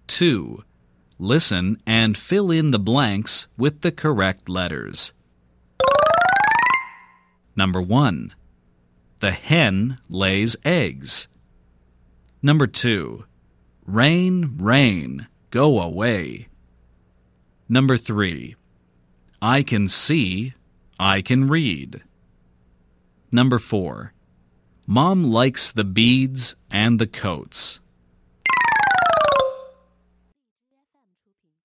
2. Listen and fill in the blanks with the correct letters. Number 1. The hen lays eggs. Number 2. Rain, rain, go away. Number 3. I can see, I can read. Number 4. Mom likes the beads and the coats.